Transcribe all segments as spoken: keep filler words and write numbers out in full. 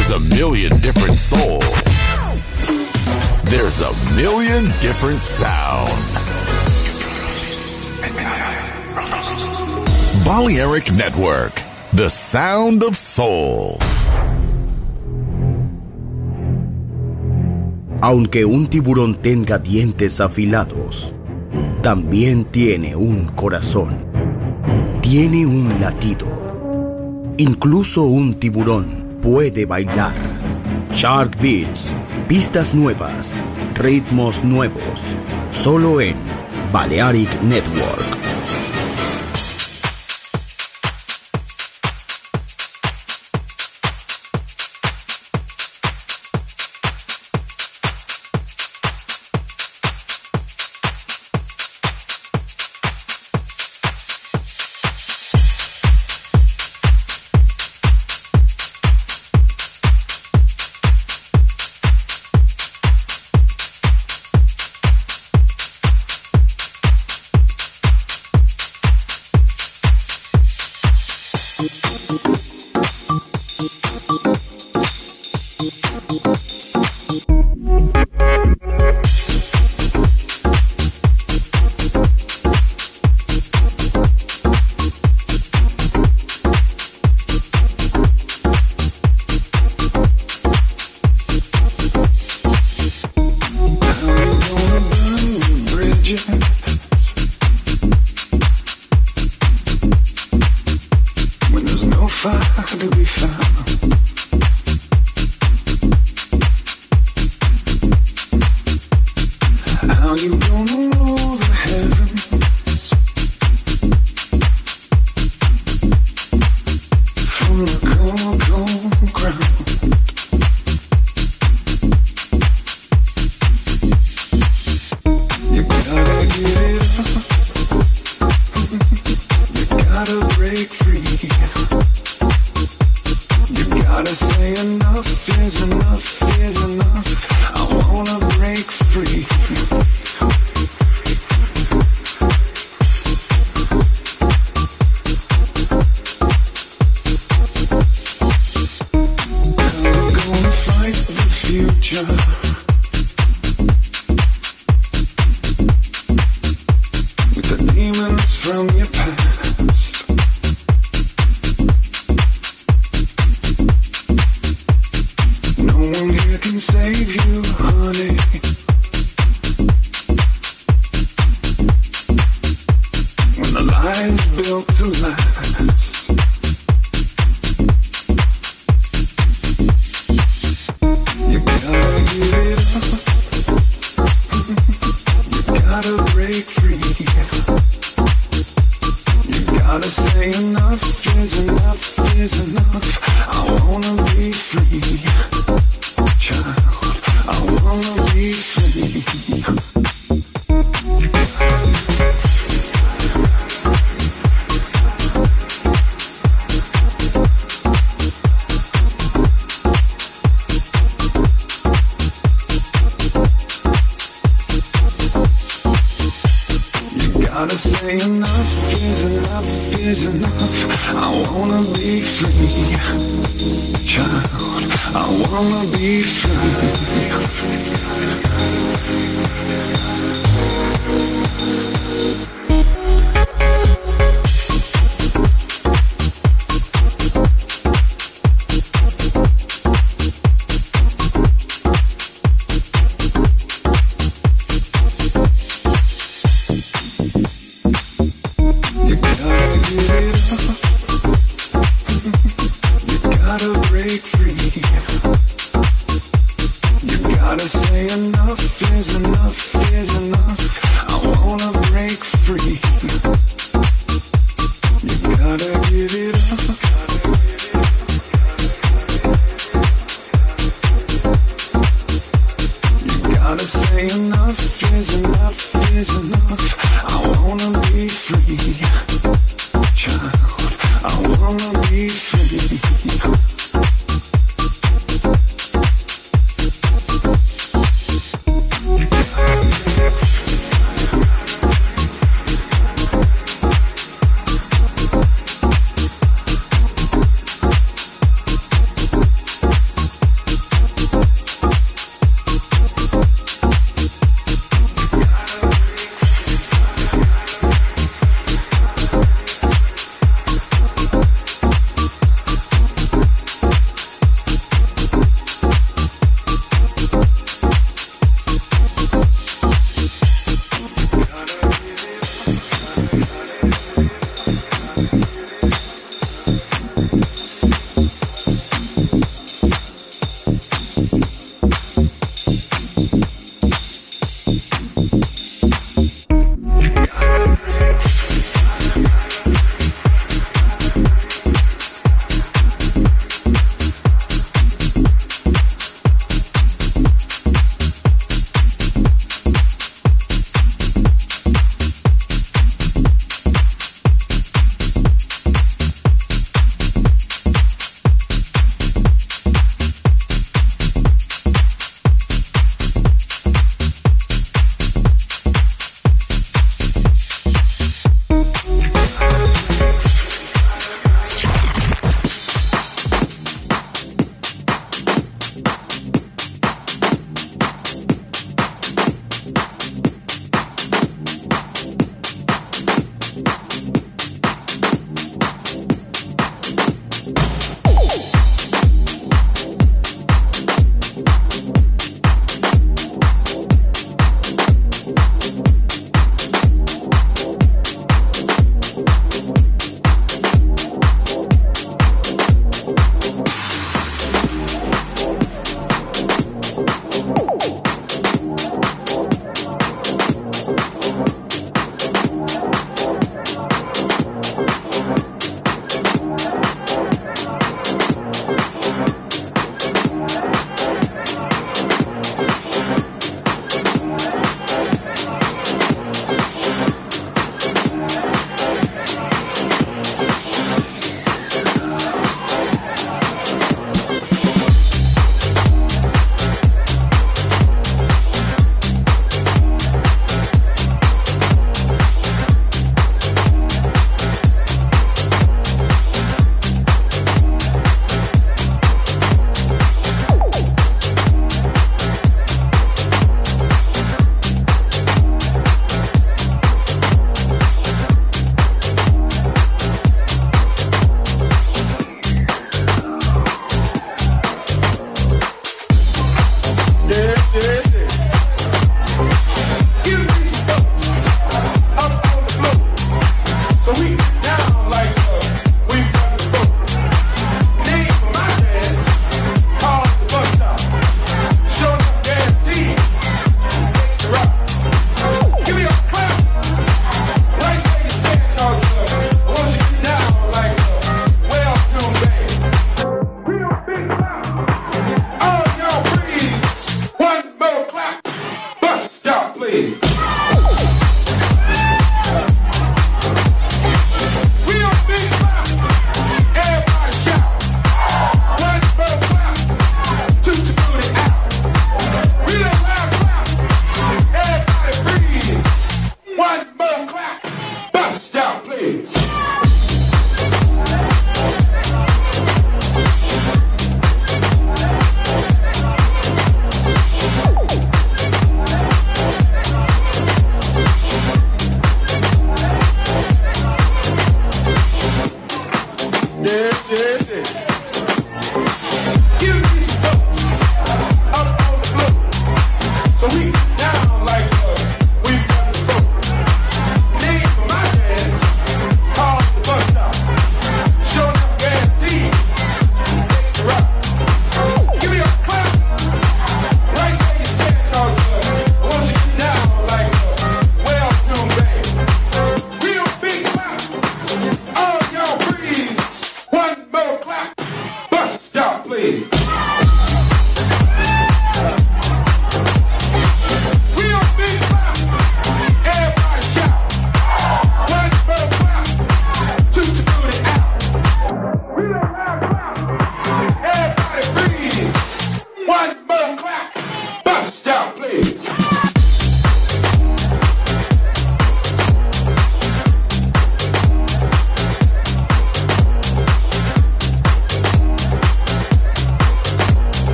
There's a million different soul. There's a million different sound. Balearic Network, the sound of soul. Aunque un tiburón tenga dientes afilados, también tiene un corazón. Tiene un latido. Incluso un tiburón puede bailar. Shark Beats, pistas nuevas, ritmos nuevos, solo en Balearic Network.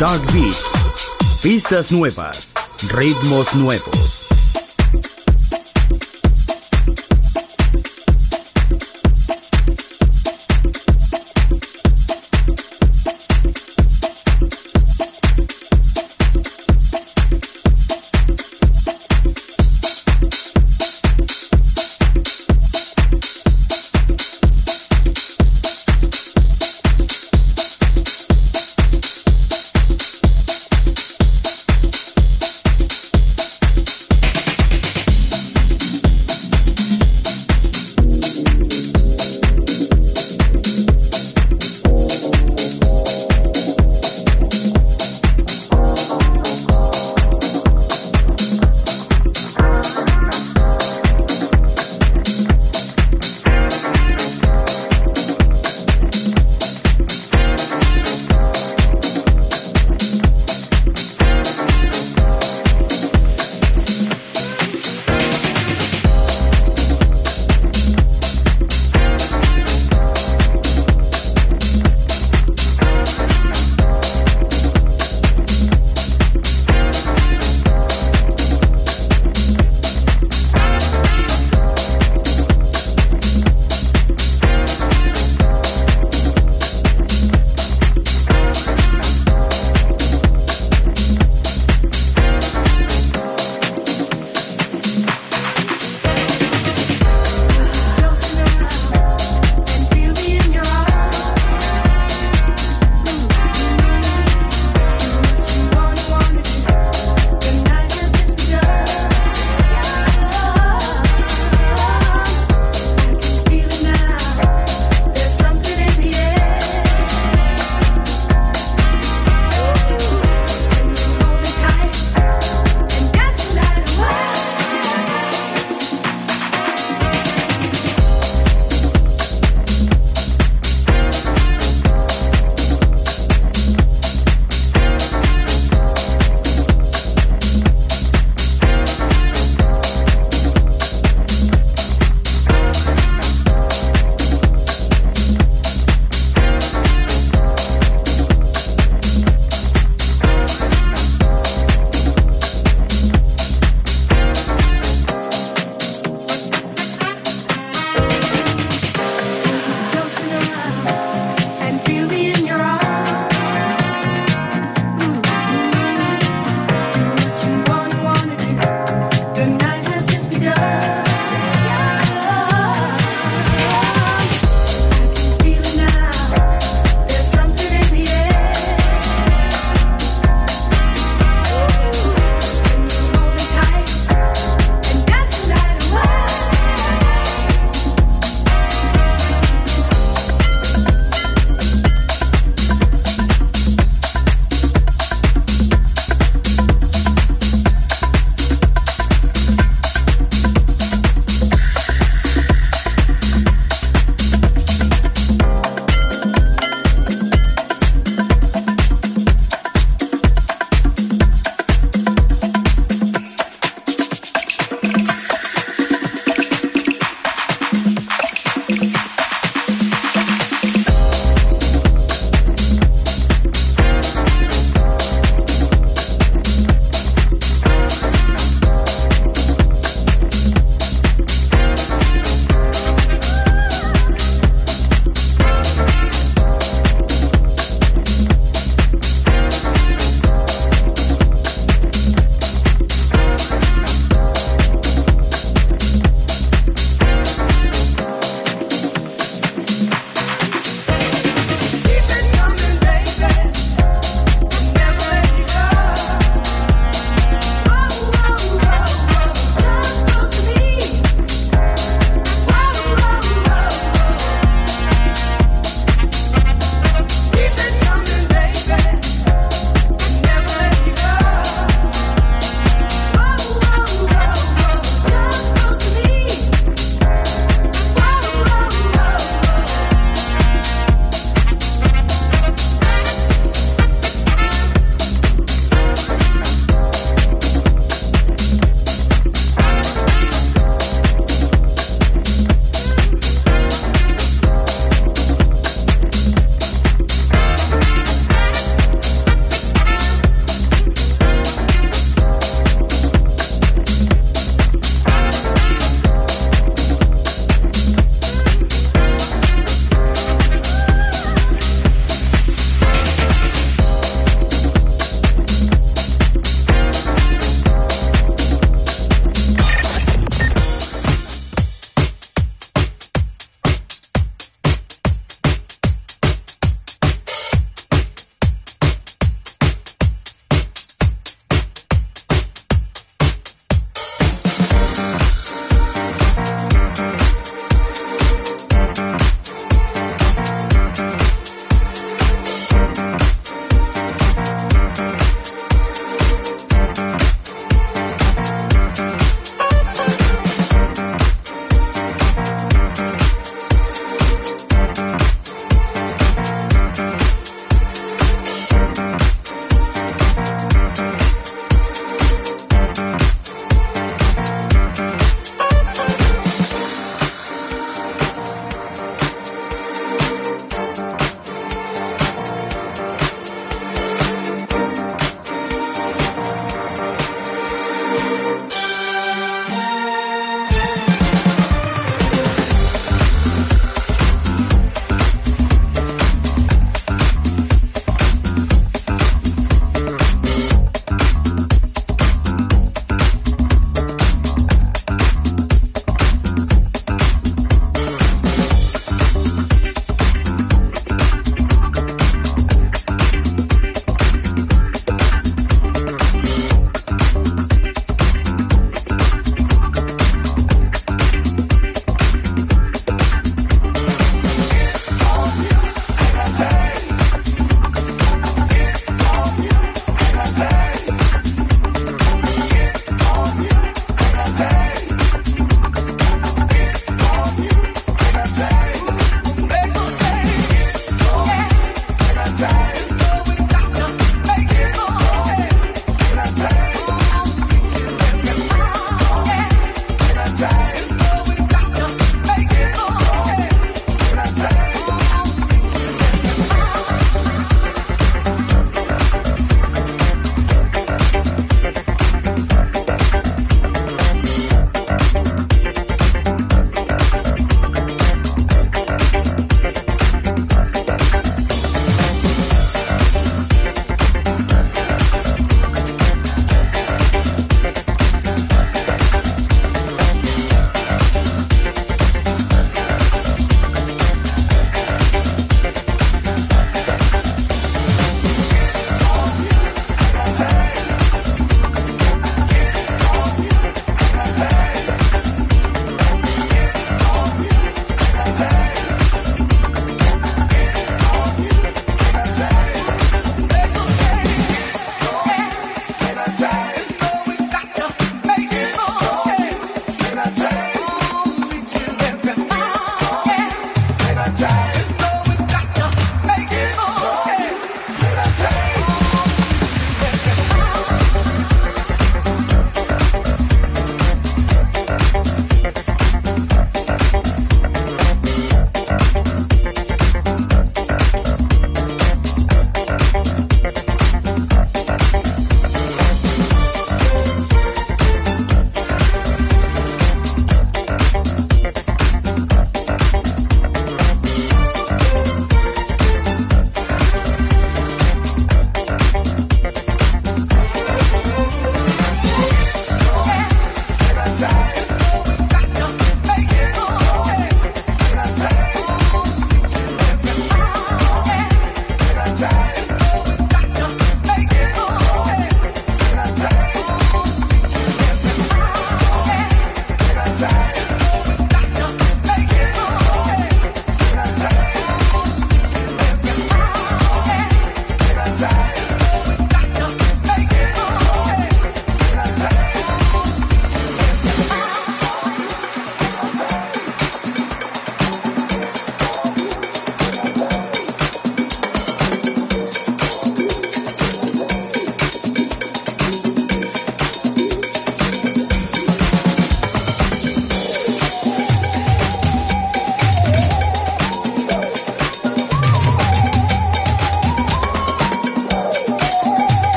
Shark Beats. Pistas nuevas, ritmos nuevos.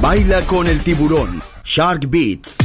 Baila con el tiburón. Shark Beats.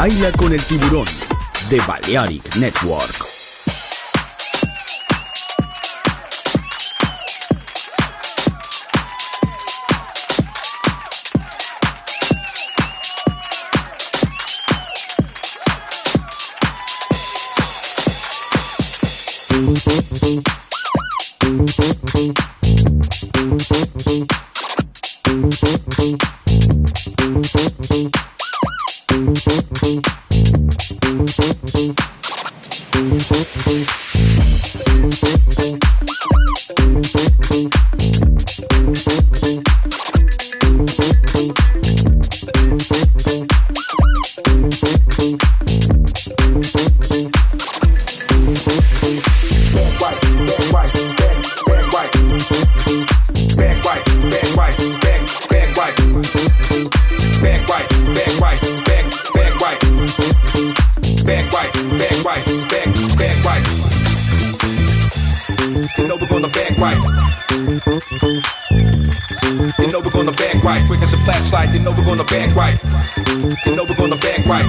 Baila con el tiburón de Balearic Network. You know we're gonna bang right. You know we're gonna bang right.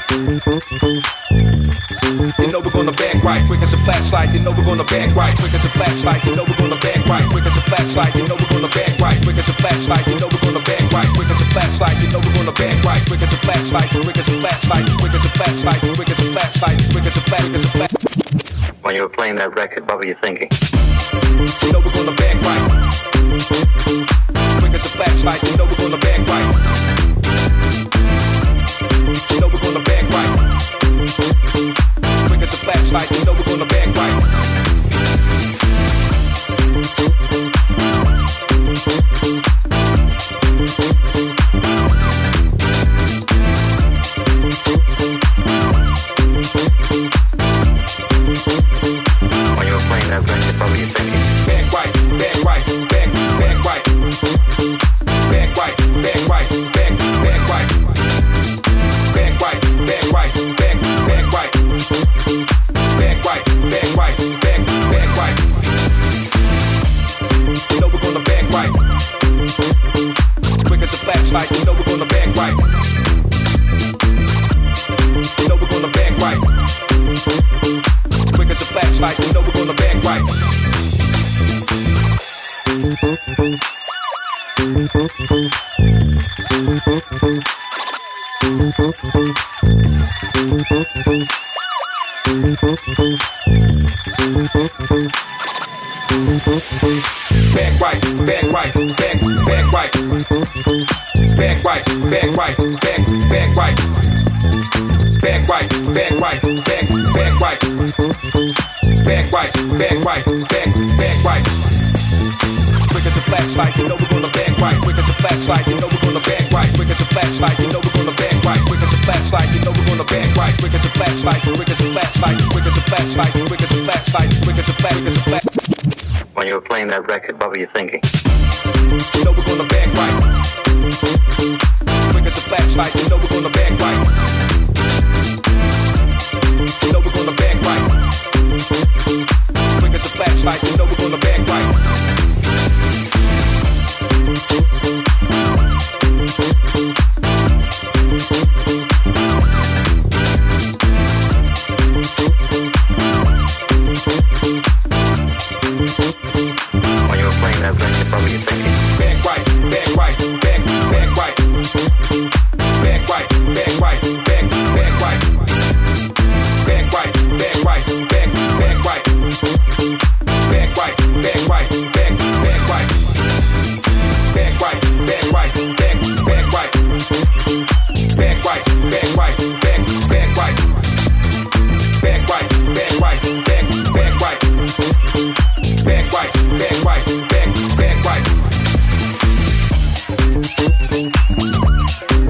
You know we're gonna bang right. Quick as a flashlight. You know we're gonna bang right. Quick as a flashlight. You know we're gonna bang right. Quick as a flashlight. You know we're gonna bang right. Quick as a flashlight. You know we're gonna bang right. Quick as a flashlight. You know we're gonna bang right. Quick as a flashlight. Quick as a flashlight. Quick as a flashlight. Quick as a flashlight. Quick as a flash. Quick as a flash. When you were playing that record, what were you thinking? You know we're gonna bang right. Quick as a flashlight. You know we're gonna bang right. You know we're gonna bang right. Quick as a flashlight. You know we're gonna bang right. When you were playing that record, what were you thinking? Bang right, bang right, bang, bang right. Bang right, bang right, bang, bang right. Bang right, bang right, bang, bang right. Bang right, bang right, bang, bang right. You know we're gonna bang right. Quick as a flashlight, you know we're gonna bang right. You know we're gonna bang right. Quick as a flashlight, you know we're gonna bang right. Bang right, bang right, bang, bang right. Bang right, bang right, bang, bang right. Bang right, bang right, bang, bang right. Bang right, bang right, bang, bang right. Quick as a flashlight, you know we're gonna bang right. Quick as a flashlight, you know we're gonna bang right. Quick as a flashlight, you know we're gonna bang right. Quick as a flashlight, you know we're gonna bang right. Quick as a flashlight, quick as a flashlight, quick as a flashlight, quick as a flashlight, quick as a flash, quick as a flash. When you were playing that record, what were you thinking? You know we're gonna bang right. Quick as a flashlight, you know we're gonna bang right. You know we're gonna bang right. Quick as a flashlight, you know we're gonna bang right. When you were playing that record, what were you thinking? Bang right, bang right, bang, bang right. Bang right, bang right, bang, bang right. Bang right, bang right, bang, bang right. Bang right, bang right, bang, bang right. Bang right, bang right, bang, bang right. Bang right, bang right, bang, bang right. Bang right, bang right, bang, bang right. Bang right, bang right, bang, bang right.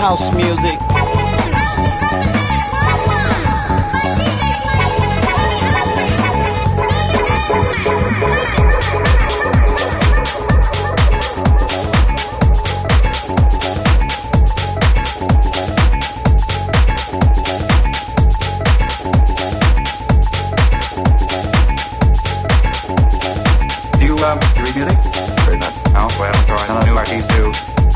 house music. Um, you read music? Or not? No? Well, throwing on new artists too.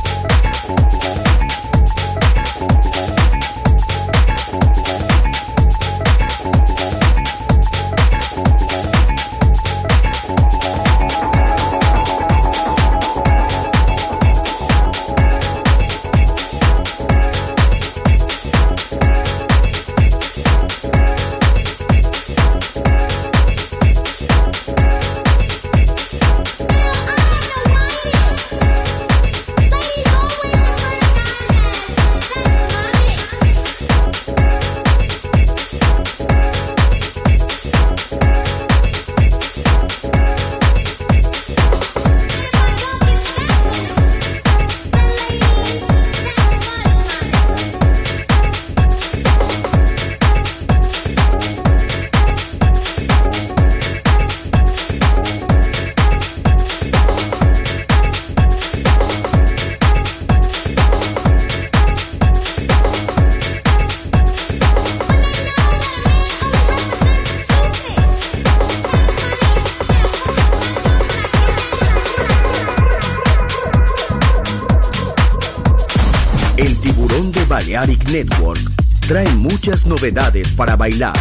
Balearic Network trae muchas novedades para bailar.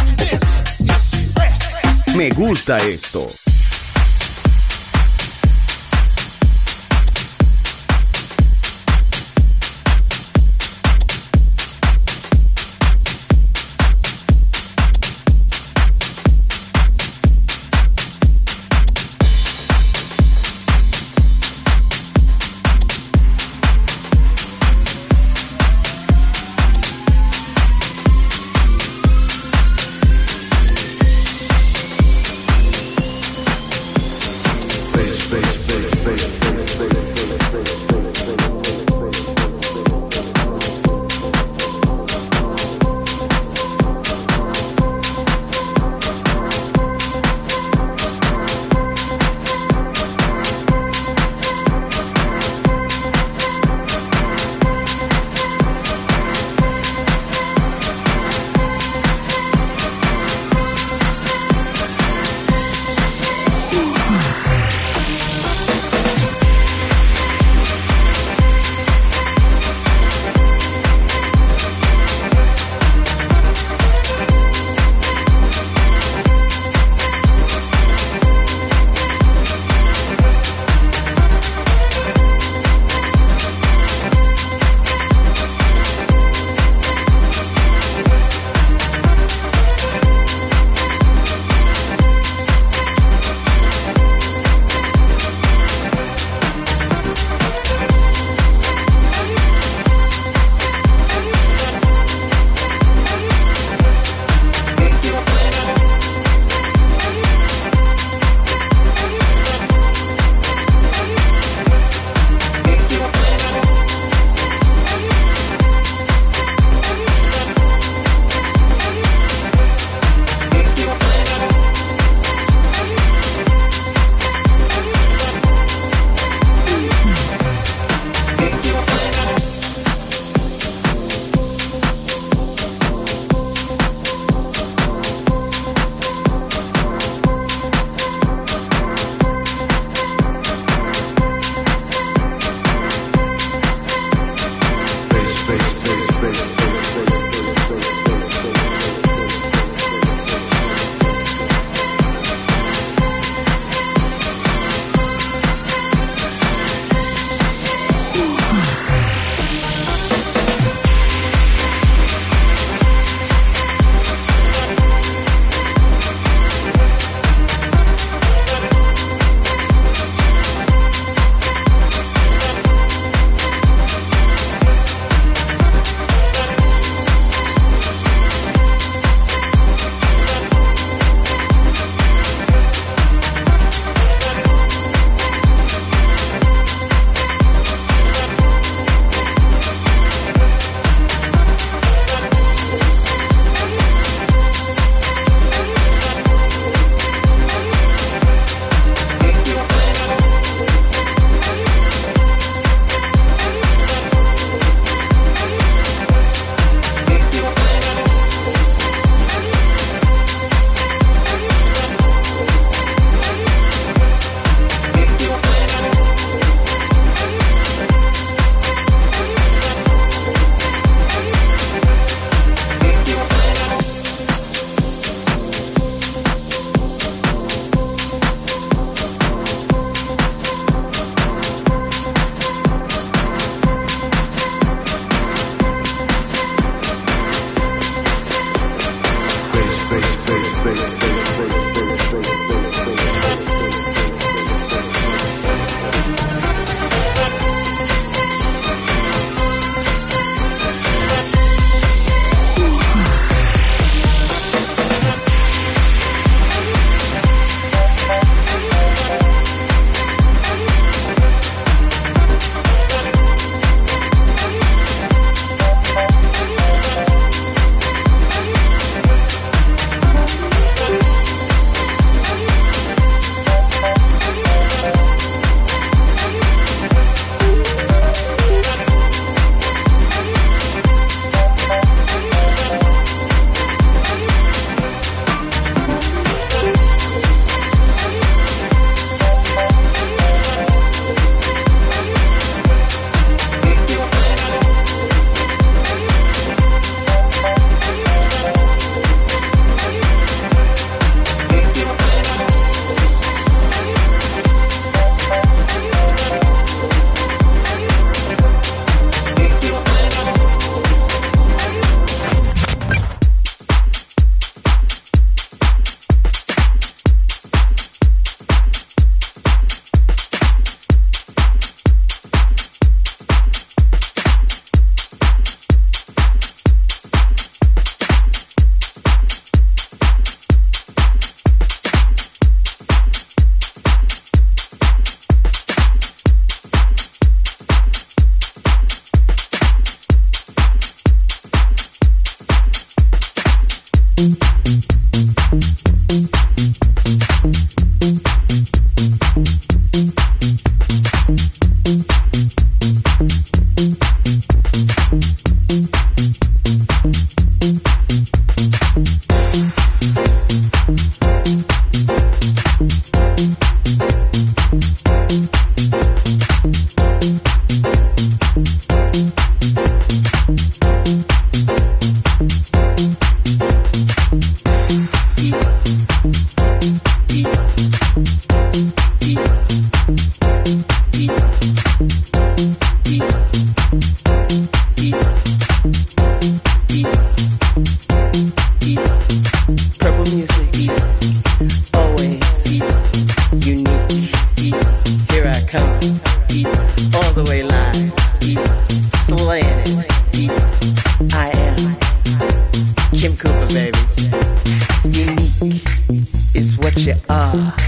Me gusta esto.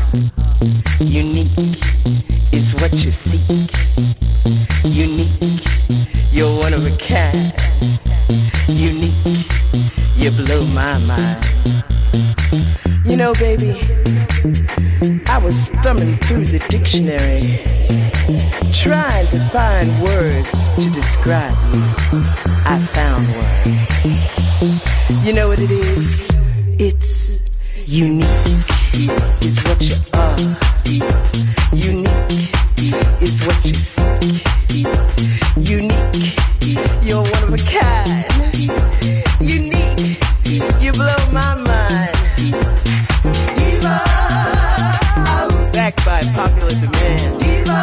Unique is what you seek. Unique, you're one of a kind. Unique, you blow my mind. You know, baby, I was thumbing through the dictionary, trying to find words to describe you. I found one. You know what it is? It's unique is what you are. Unique is what you seek. Unique, you're one of a kind. Unique, you blow my mind. Diva, backed by popular demand. Diva,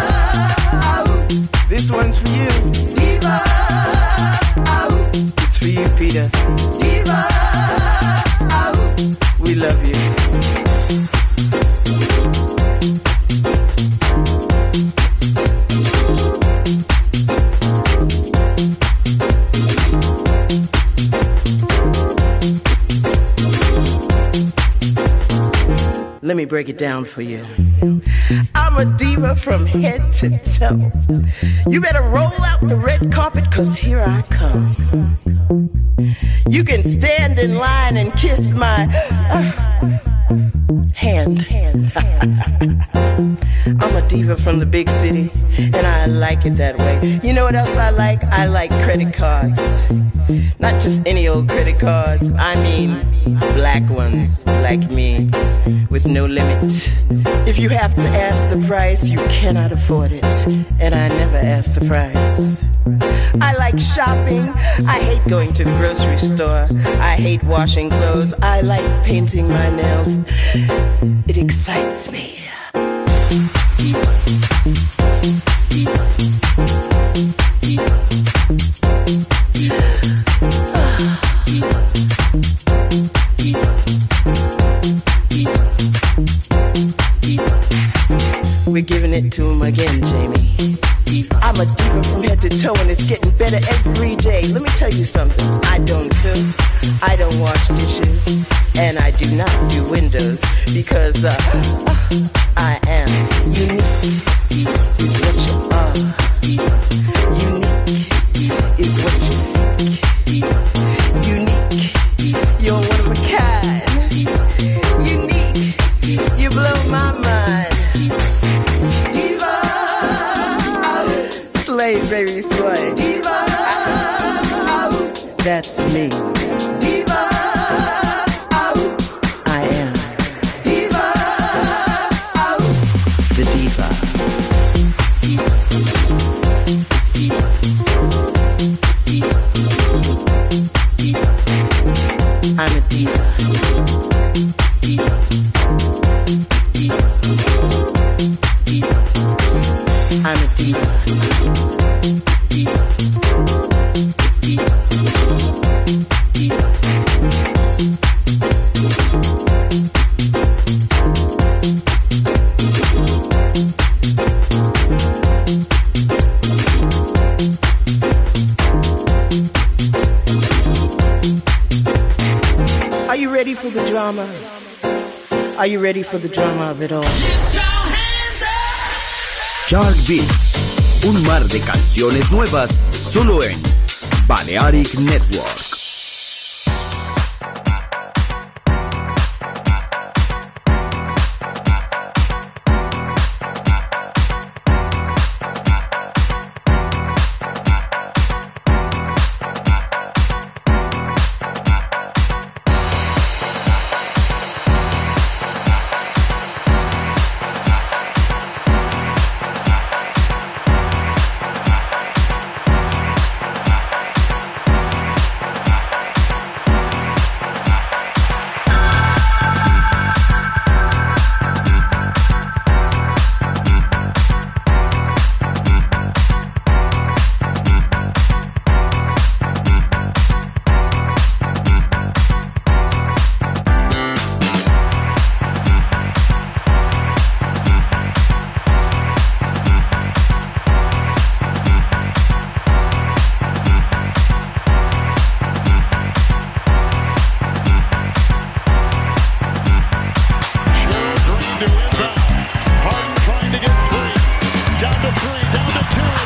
this one's for you. Diva, it's for you, Peter. Diva, we love you. Let me break it down for you. I'm a diva from head to toe. You better roll out the red carpet, cause here I come. You can stand in line and kiss my uh, hand. I'm a diva from the big city, and I like it that way. You know what else I like? I like credit cards. Not just any old credit cards. I mean black ones, like me, with no limit. If you have to ask the price, you cannot afford it. And I never ask the price. I like shopping. I hate going to the grocery store. I hate washing clothes. I like painting my nails. It excites me. We're giving it to him again, Jamie. I'm a diva from head to toe, and it's getting better every day. Let me tell you something. I don't cook, I don't wash dishes, and I do not do windows, because uh, I am unique is what you are. Unique is what you seek. Unique, you're one of a kind. Unique, you blow my mind. Diva, slay, baby, slay. Diva, that's me. Diva, I am. Diva, the diva. I'm a diva. I'm a diva. Are you ready for the drama? Are you ready for the drama of it all? Chart Beats, un mar de canciones nuevas solo en Balearic Network.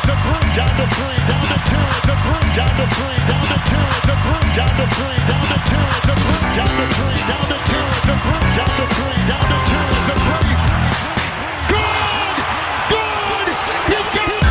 it's a three, down to three, down to two, it's a three, down to three, down to two, it's a three, down to three, down to two, it's a three, down to three, down to two, it's a three, down to three, down to two, it's a three. Good! Good! You got it!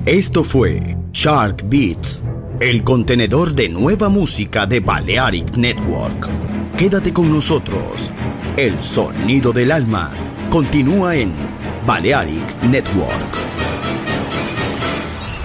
Esto fue Shark Beats, el contenedor de nueva música de Balearic Network. Quédate con nosotros. El sonido del alma continúa en Balearic Network.